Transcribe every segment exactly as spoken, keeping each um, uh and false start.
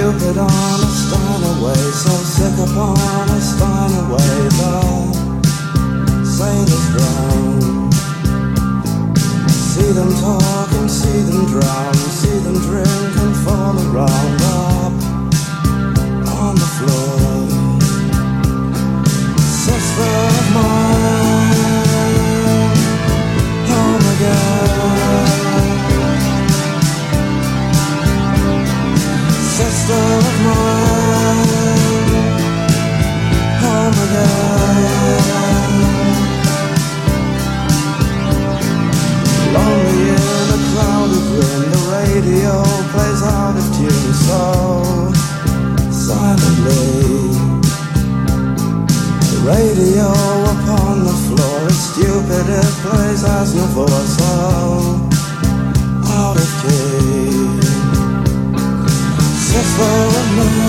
stupid on a Steiner way, so sick upon a Steiner way, the sailors drown. See them talk and see them drown, see them drink and fall around up on the floor. Sister of mine, home again. Sister of mine, home again. Lonely in a crowded room, the radio plays out of tune so silently. The radio upon the floor is stupid, it plays as Nouveau, so out of key. Sister of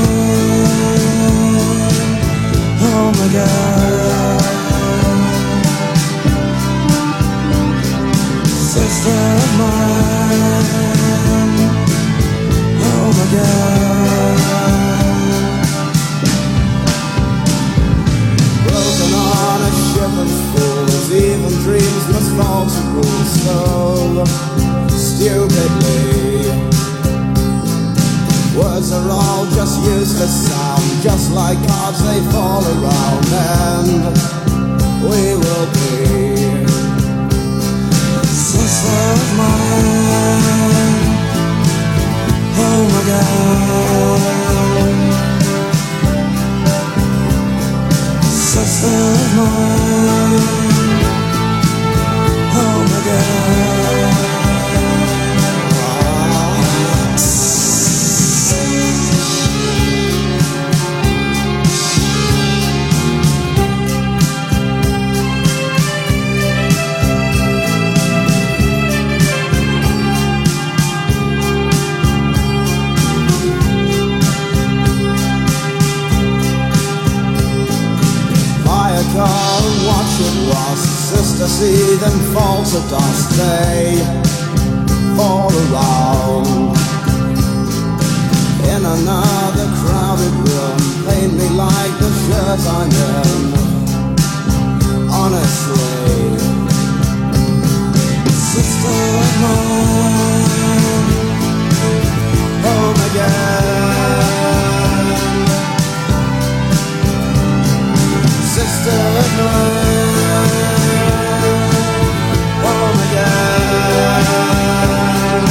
mine, home again. Sister of mine, home again. Broken on a ship of fools, even dreams must fall to rules so stupidly. Words are all just useless sound, just like cards they fall around, and we will be sister of mine, home again. Sister of mine, home again. Car and watch it rust, sister, see them fall to dust, they fall around. In another crowded room, paint me like the shirt I'm in, honestly. Sister of mine, home again. Sister of mine, home again.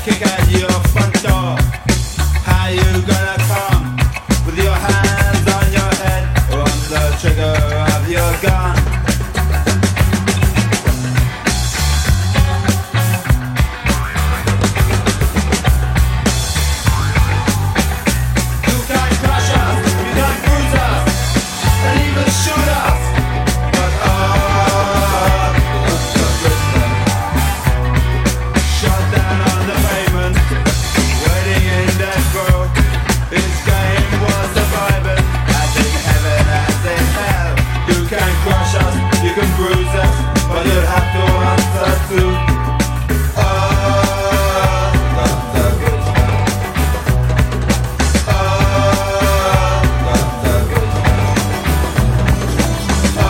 kick at your front door. How you gonna come with your hands on your head or on the trigger of your gun? You can't crush us, you can't bruise us, and even shoot us. But oh, the Britain shot down on the pavement, waiting in death row. His game was surviving, as in heaven, as in hell. You can crush us, you can bruise us, but you'll have to answer to oh, the, the good man. Oh, the, the good man. Oh,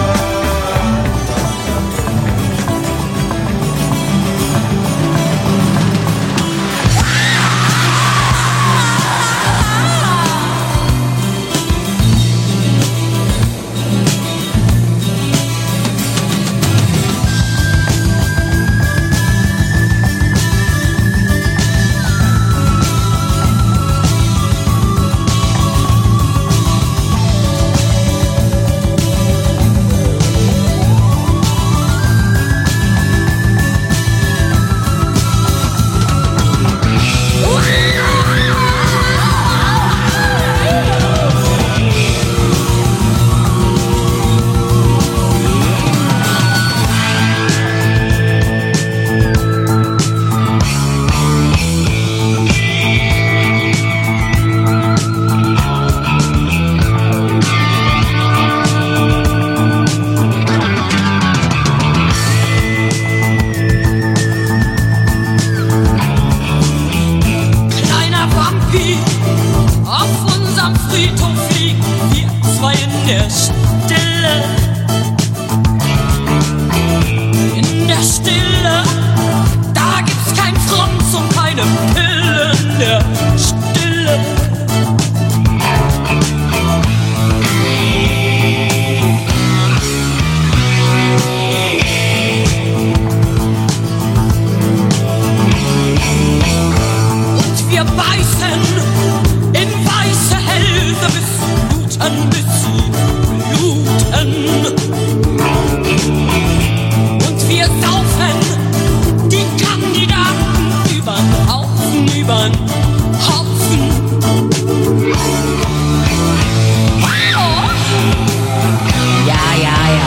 Kleiner Vampi, auf unserem Friedhof liegen wir zwei in der Stille. In der Stille, da gibt's kein Franz und keine Pille. In der Stille. Und wir beißen in weiße Hälse bis bluten, bis sie bluten. Und wir saufen die Kandidaten übern Haufen, übern Haufen. Wow. Ja, ja, ja.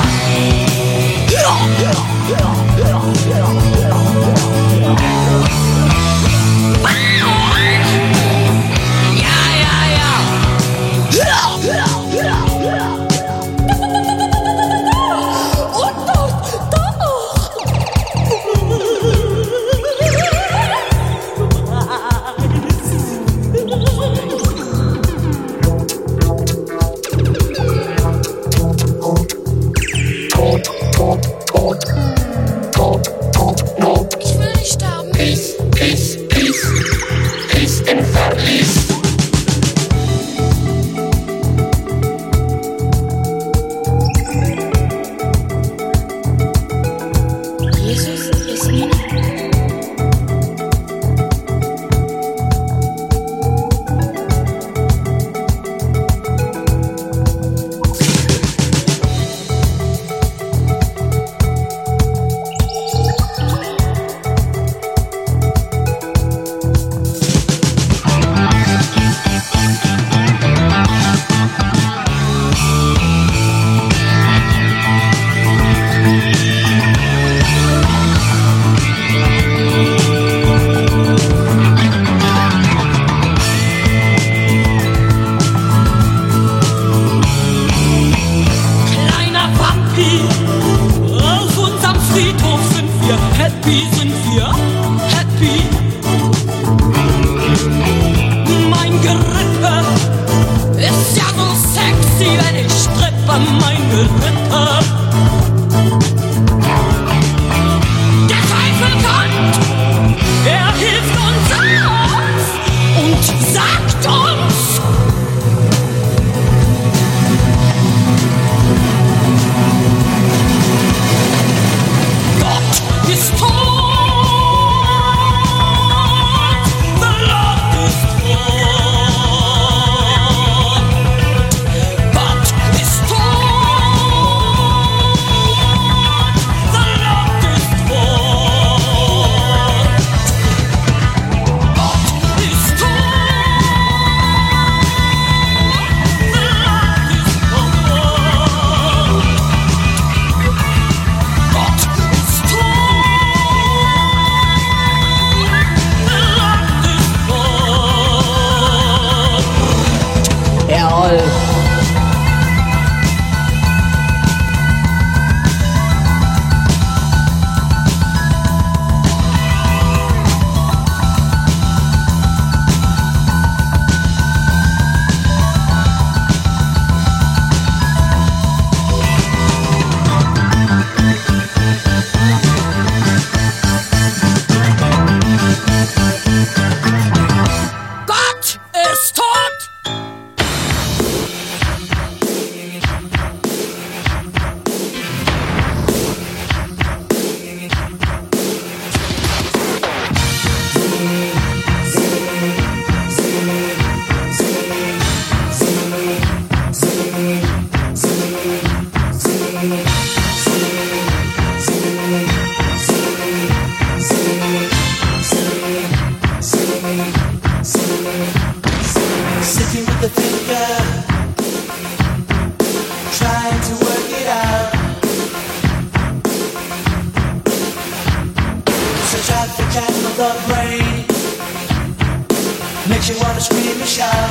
the channel of the brain. Makes you wanna scream and shout.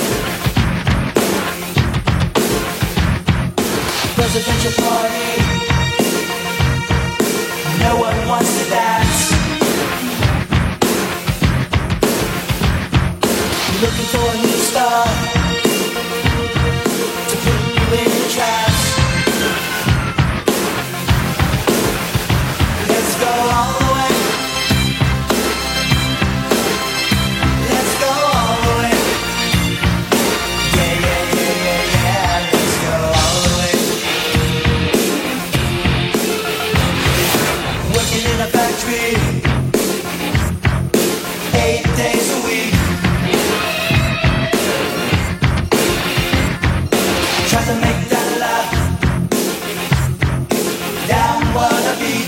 Presidential party. No one wants to dance. You're looking for a new star to put you in a trance. Let's go all the way. Let's go all the way. Yeah, yeah, yeah, yeah, yeah. Let's go all the way. Working in a factory, eight days a week. Try to make that laugh down what I beat.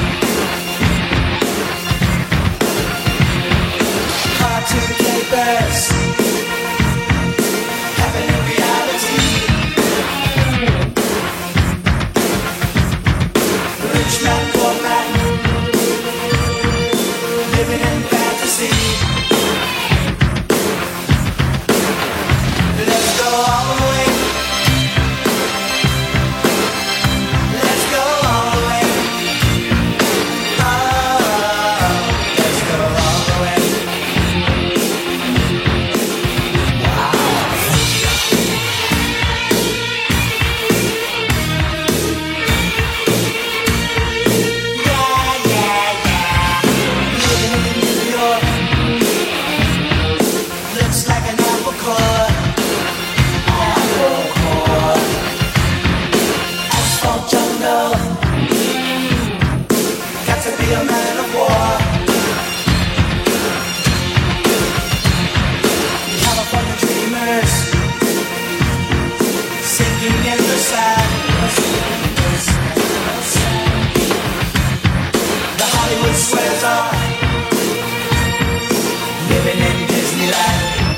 Cartoon papers happen in reality. Rich man, poor man, living in fantasy. Let's go all the way. Let's go all the way. Oh, let's go all the way. Yeah, yeah, yeah. Living in New York looks like an apple core. Apple core. Asphalt jungle. Got to be a man of war. California dreamers sinking in the sand. The Hollywood swears off living in Disneyland.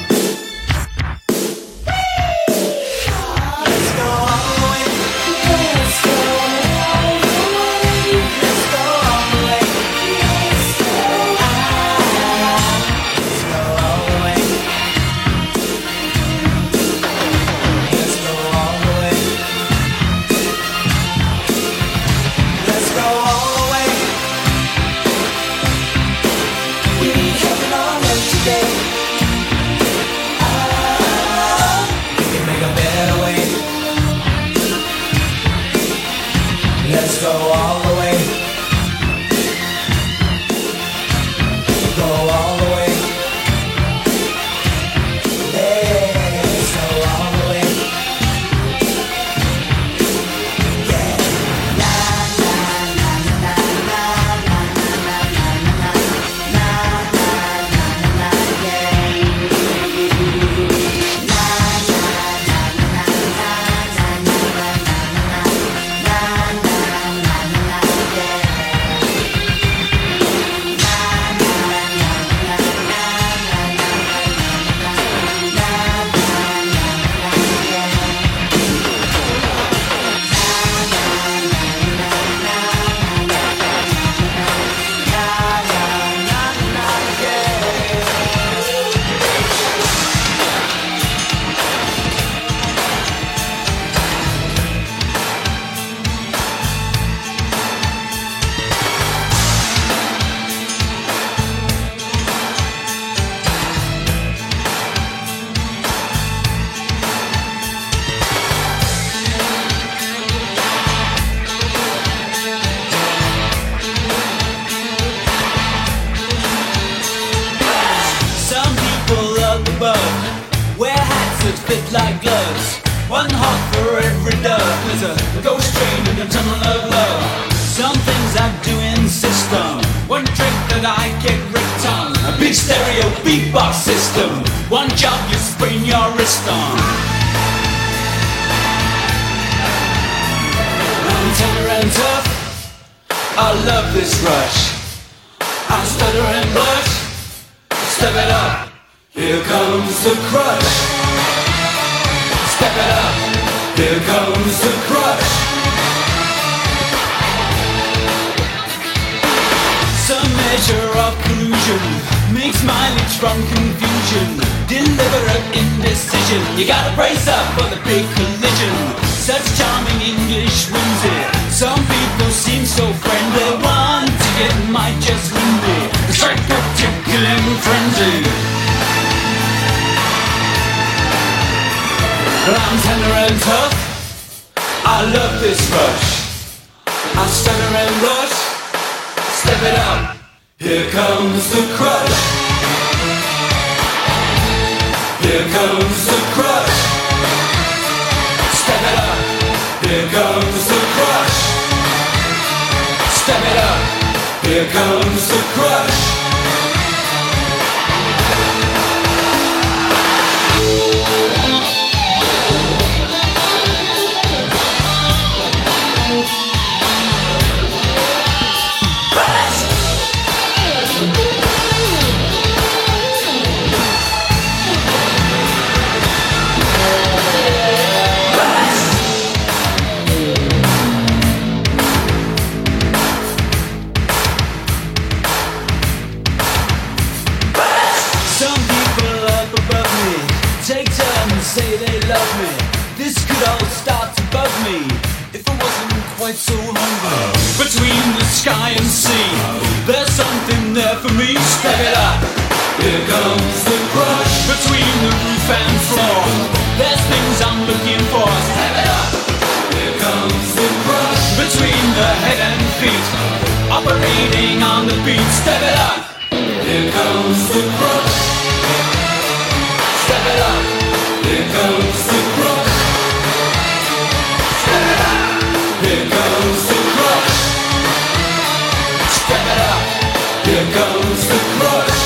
Let's go all the way. Let's go all the way. Let's go all the way. Let's go all the way. Let's go all the way. Let's go all the way. We need heaven on earth today. Ah, we can make a better way. Let's go all the way. Go all the way. Let's go all the way. Yeah. Na na na na na na na na na na na na na yeah. Na na na na na na na na fit like gloves. One heart for every dove. There's a ghost train in the tunnel of love. Some things I do insist on. One trick that I get ripped on. A big stereo beatbox system. One job you sprain your wrist on. I'm tender and tough. I love this rush. I stutter and blush. Step it up. Here comes the crush. Step it up. Here comes the crush. Some measure of collusion makes mileage from confusion. Deliberate indecision. You gotta brace up for the big collision. Such charming English whimsy. Some people seem so friendly. One ticket might just win me. The psycho-tickling frenzy. I'm tender and tough. I love this rush. I'm stutter and rush. Step it up. Here comes the crush. Here comes the crush. Step it up. Here comes the crush. Step it up. Here comes the crush. Say they love me. This could all start to bug me if I wasn't quite so hungry. Between the sky and sea, there's something there for me. Step it up. Here comes the crush. Between the roof and floor, there's things I'm looking for. Step it up. Here comes the crush. Between the head and feet, operating on the beat. Step it up. Here comes the crush. Step it up. Here comes the crush. Step it up. Here comes the crush. Step it up. Here comes the crush.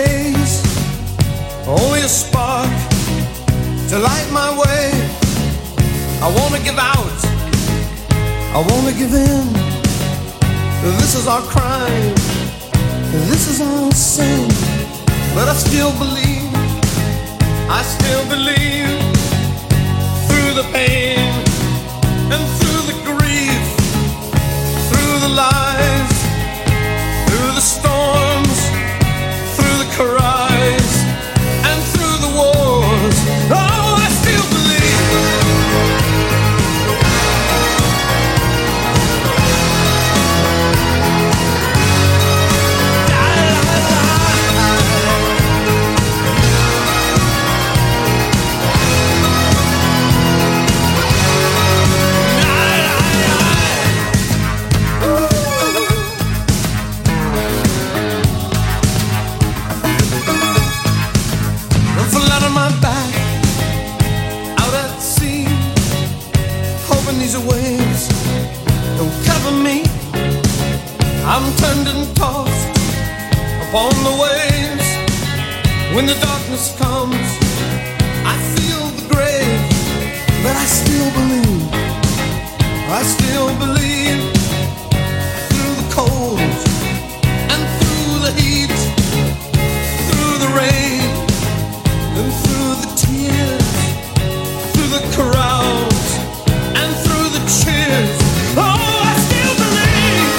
blaze, only a spark to light my way. I wanna give out, I wanna give in. This is our crime, this is our sin. But I still believe, I still believe. Through the pain and through the grief, through the lies, through the storms, through the cries, and through the wars. Oh, I still believe. La, la, la. These waves don't cover me. I'm turned and tossed upon the waves. When the darkness comes, I feel the grave. But I still believe, I still believe. Through the cold and through the heat, through the rain and through the tears, through the crowds and through the cheers. Oh, I still believe.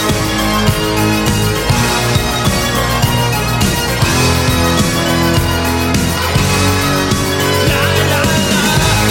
La, la, la.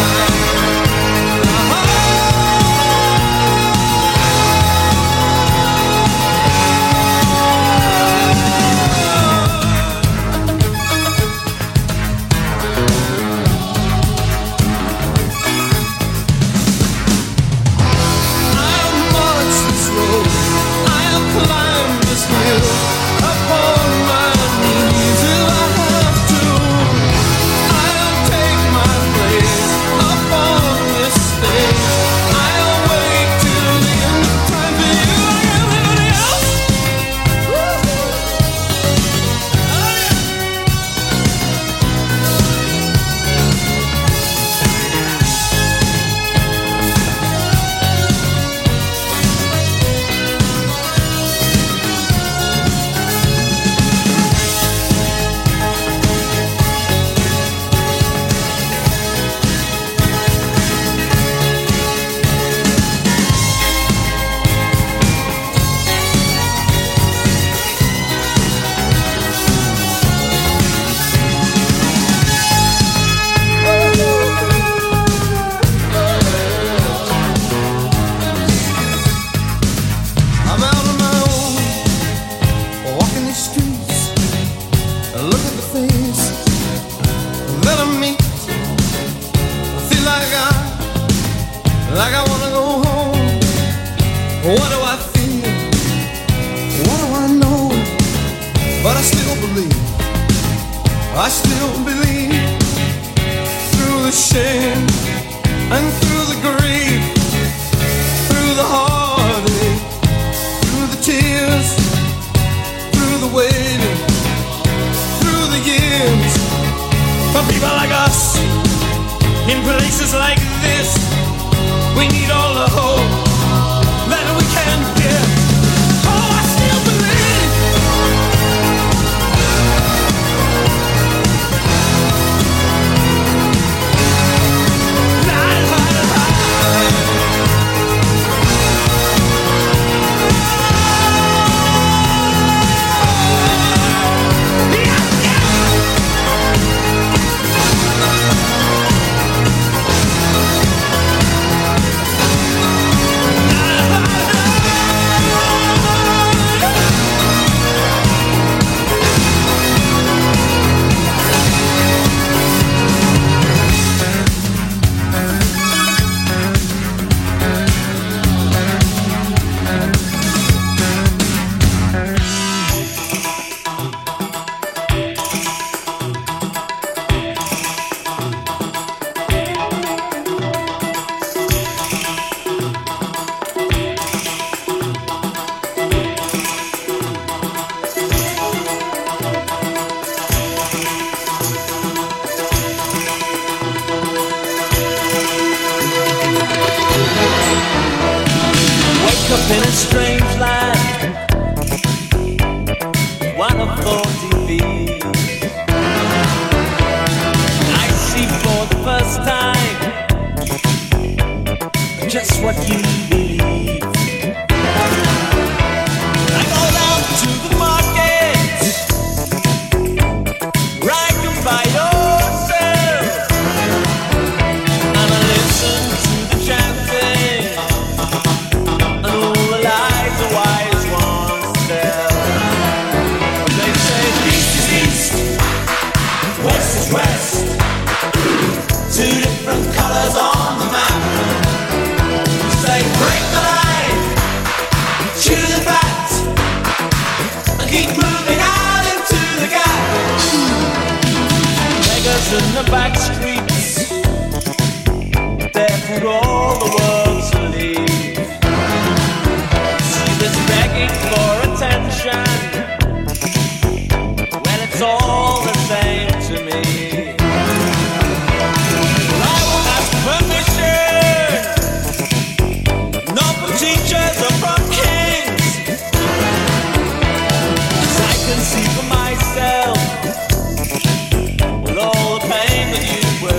Like I wanna go home. What do I feel? What do I know? But I still believe, I still believe. Through the shame and through the grief, through the heartache, through the tears, through the waiting, through the years. For people like us, in places like this, we need all the hope that we can give. Oh, I still believe. La, la, la. Yeah, yeah. up in a strange land, one of forty feet. I see for the first time just what you believe. I go down to the market, right you by yourself, and I listen to the chanting and all the lies the wise ones tell. They say east is east, west is west, two different colors on the map. Say break the line, choose the fat, and keep moving out into the gap. Beggars in the back streets, they're for all the world to leave. See this begging for attention, well it's all the same to me. Well, I won't ask permission, not from teachers or from kings, 'cause I can see for myself, well, all the pain that you bring.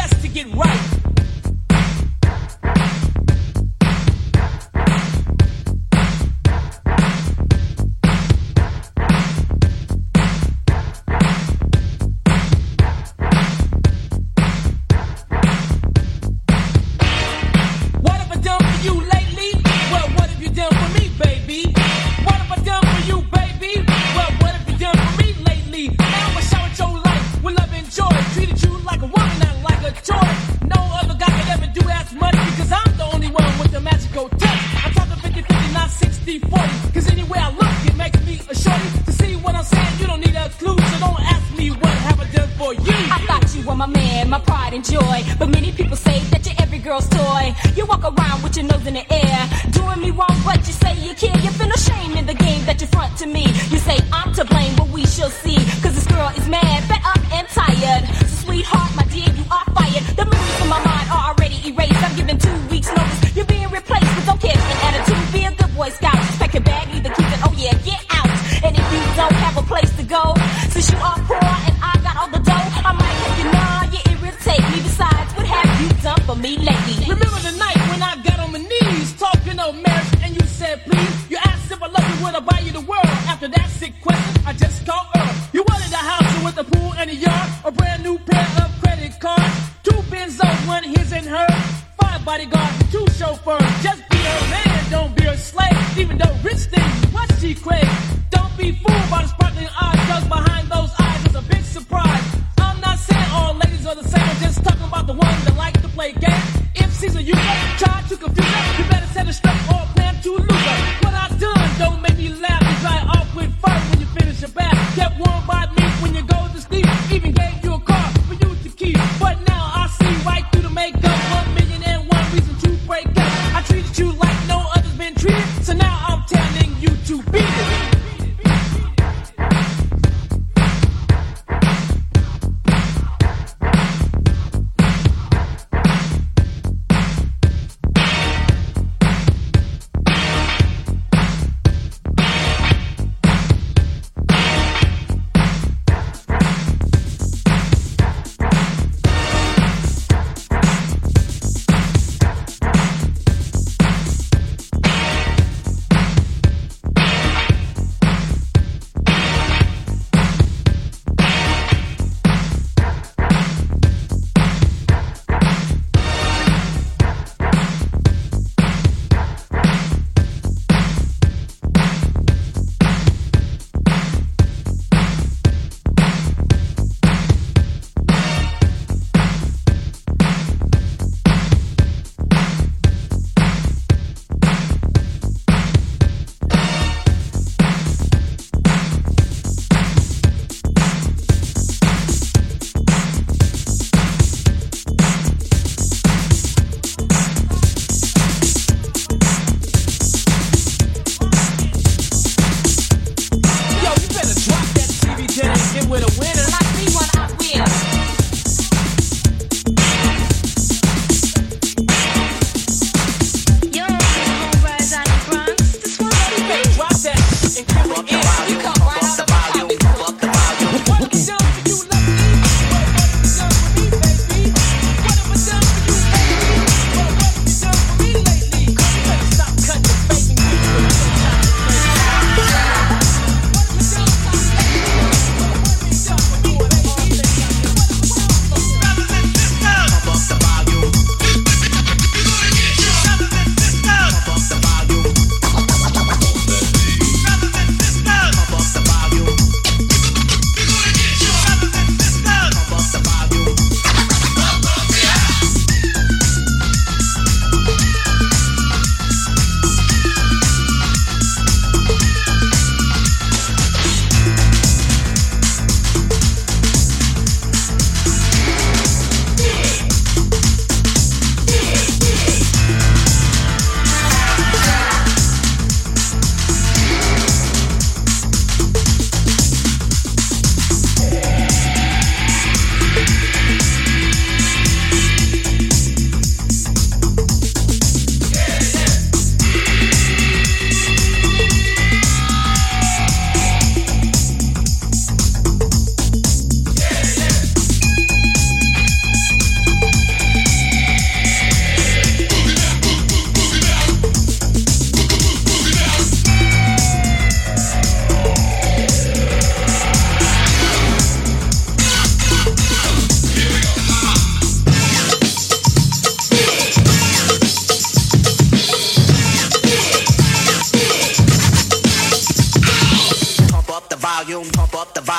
best to get right.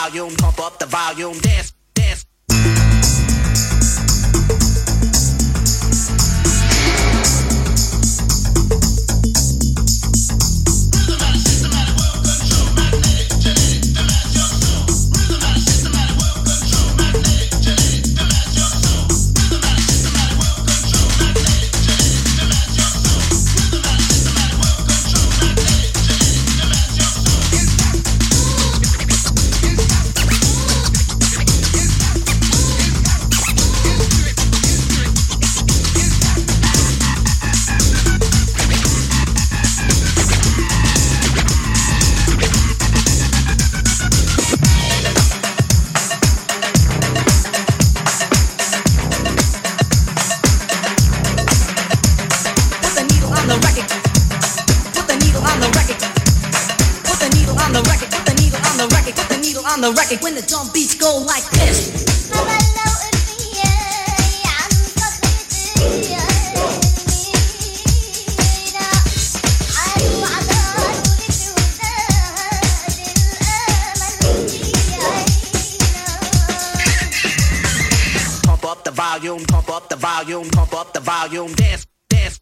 volume, pump up the volume, dance, dance. On the record when the drum beats go like this. Pump up the volume, pump up the volume, pump up the volume, dance, dance.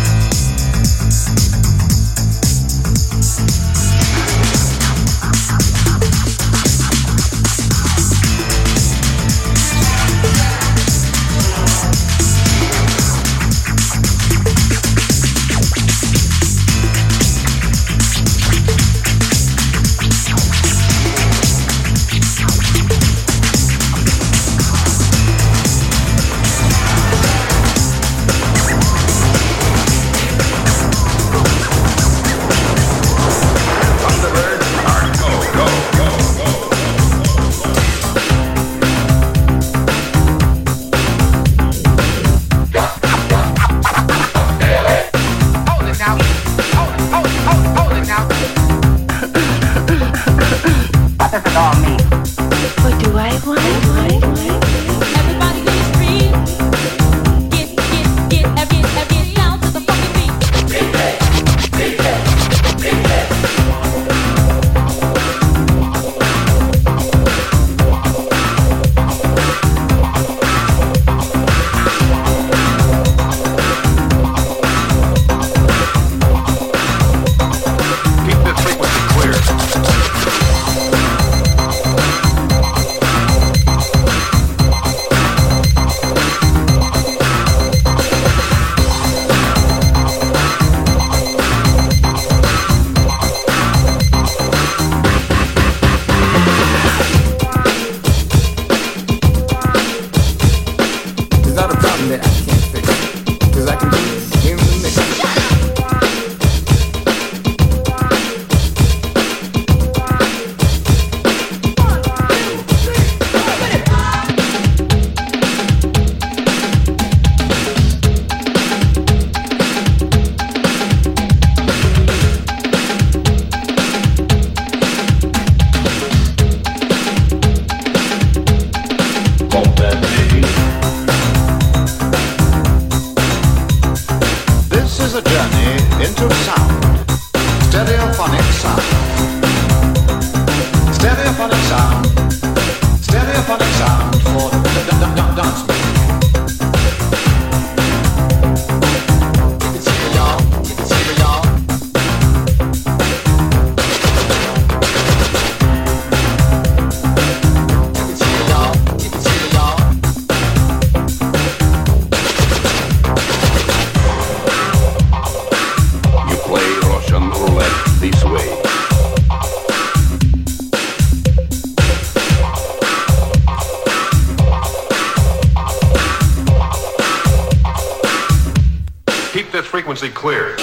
Frequency clear.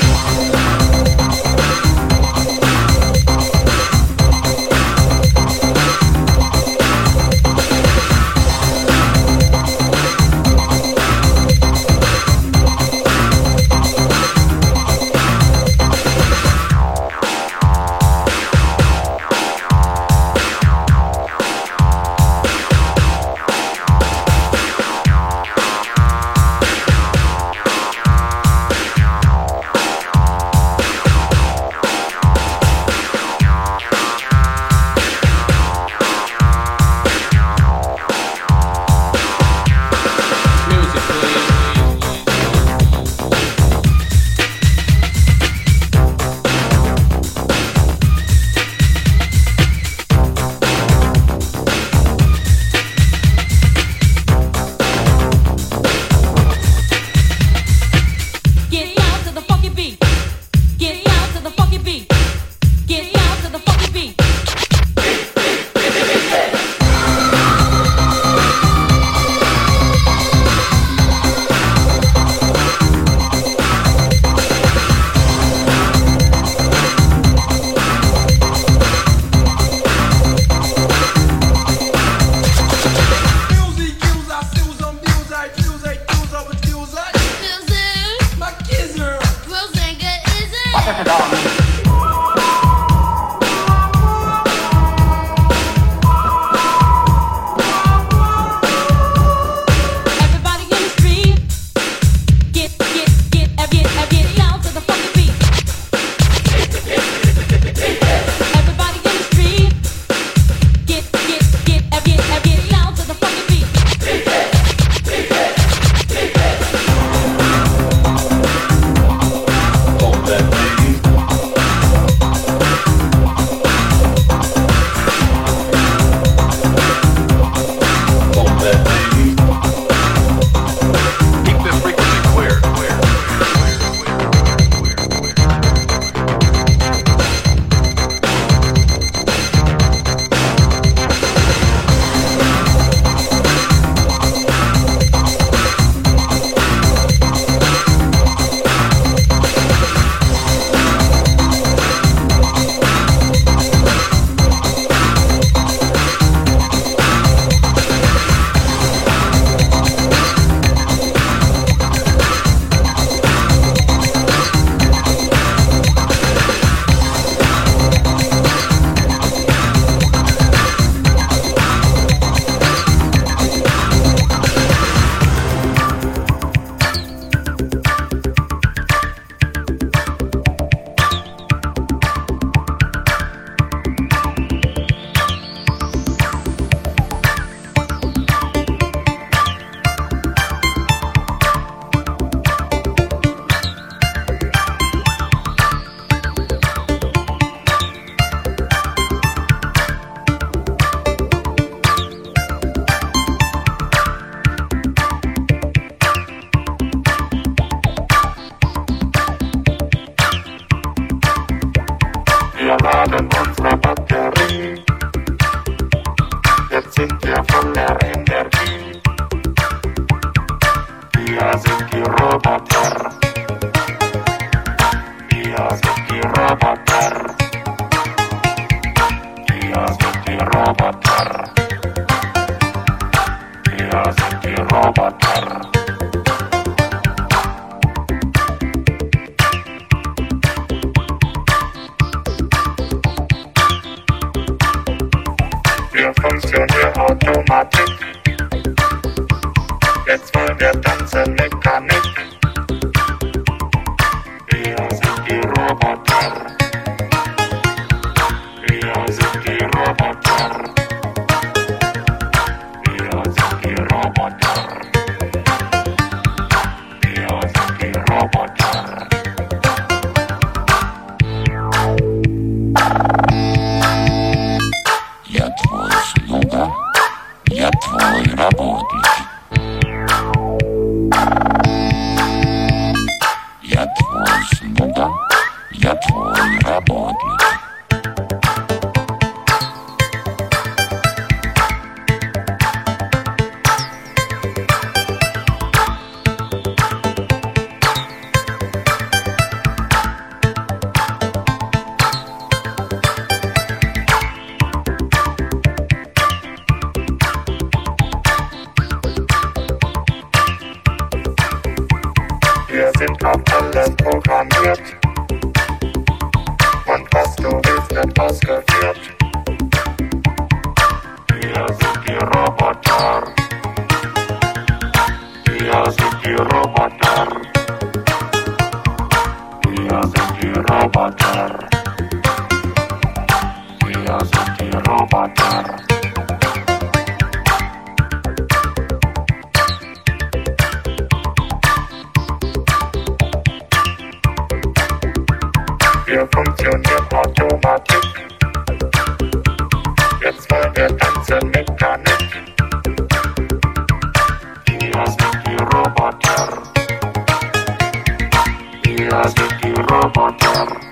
Wir sind die Roboter. Wir sind die Roboter. Wir sind die Roboter. Wir sind die Roboter. Wir funktionieren Automatik. Jetzt wollen wir tanzen Mechanik. Wir sind die Roboter. Wir sind die Roboter. Wir sind die Roboter. Wir sind die Roboter. Я твой слуга, я твой работник. Я твой слуга, я твой работник. Wir sind auf alles programmiert. Und was du willst, wird ausgeführt. Wir sind die Roboter. Wir sind die Roboter. Wir sind die Roboter. Wir sind die Roboter. Wir funktionieren Automatik. Jetzt wollen wir tanzen Mechanik. Wir sind die Roboter. Wir sind die Roboter.